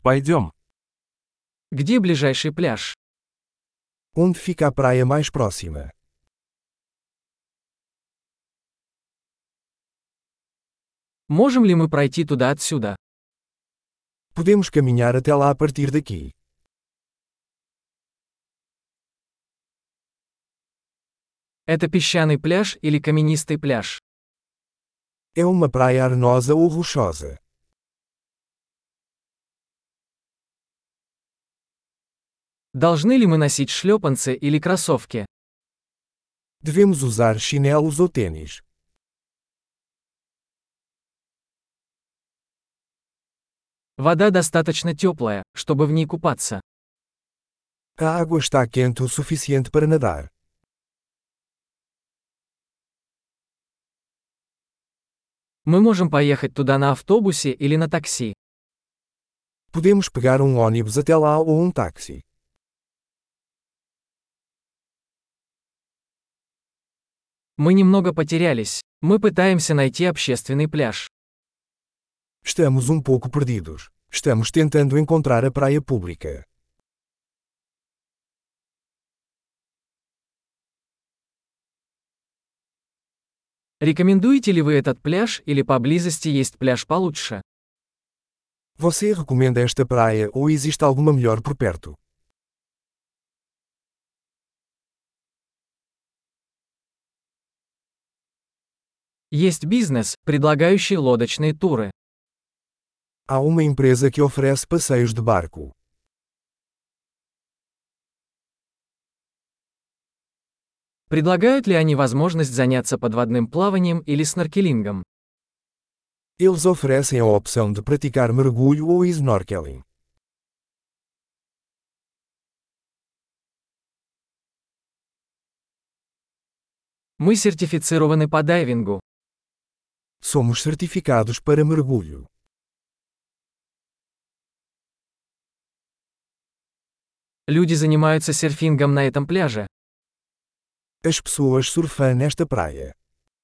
Пойдем. Где ближайший пляж? Onde fica a praia mais próxima? Можем ли мы пройти туда отсюда? Podemos caminhar até lá a partir daqui. Это песчаный пляж или каменистый пляж? É uma praia arenosa ou rochosa? Должны ли мы носить шлепанцы или кроссовки? Devemos usar chinelos ou tênis? Вода достаточно теплая, чтобы в ней купаться. A água está quente o suficiente para nadar. Мы можем поехать туда на автобусе или на такси. Podemos pegar ônibus até lá ou táxi. Мы немного потерялись. Мы пытаемся найти общественный пляж. Estamos pouco perdidos. Estamos tentando encontrar a praia pública. Рекомендуете ли вы этот пляж или поблизости есть пляж получше? Você recomenda esta praia ou existe alguma melhor por perto? Есть бизнес, предлагающий лодочные туры. Há uma empresa que oferece passeios de barco. Предлагают ли они возможность заняться подводным плаванием или сноркелингом? Eles oferecem a opção de praticar mergulho ou snorkeling. Мы сертифицированы по дайвингу. Somos certificados para mergulho. Люди занимаются серфингом на этом пляже. As pessoas surfam nesta praia.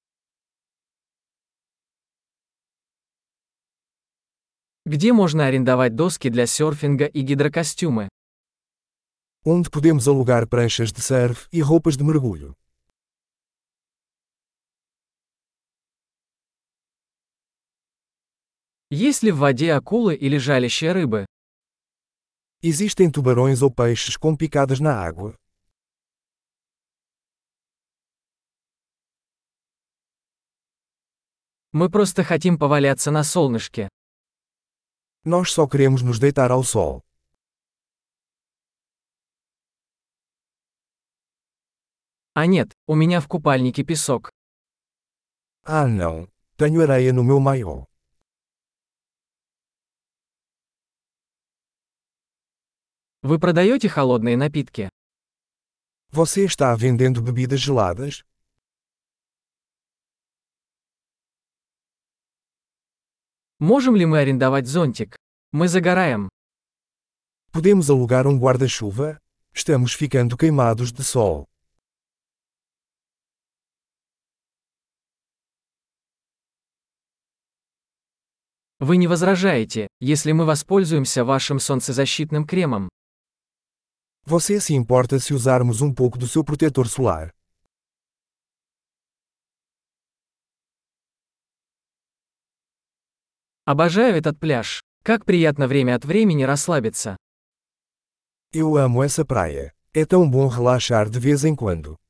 Где можно арендовать доски для серфинга и гидрокостюмы? Onde podemos alugar pranchas de surf e roupas de mergulho. Есть ли в воде акулы или жалящие рыбы? Existem tubarões ou peixes com picadas na água? Мы просто хотим поваляться на солнышке. Nós só queremos nos deitar ao sol. А нет, у меня в купальнике песок. Ah não, tenho areia no meu maiô. Вы продаете холодные напитки? Você está vendendo bebidas geladas? Можем ли мы арендовать зонтик? Мы загораем. Podemos alugar guarda-chuva? Estamos ficando queimados de sol. Вы не возражаете, если мы воспользуемся вашим солнцезащитным кремом? Você se importa se usarmos pouco do seu protetor solar? Обожаю этот пляж. Как приятно время от времени расслабиться. Eu amo essa praia. É tão bom relaxar de vez em quando.